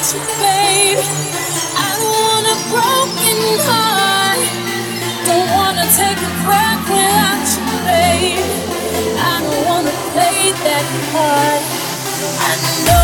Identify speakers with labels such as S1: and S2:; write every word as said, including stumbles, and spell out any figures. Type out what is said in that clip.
S1: you, babe. I don't want a broken heart. Don't wanna take a breath without you, babe. I don't wanna play that part. I know.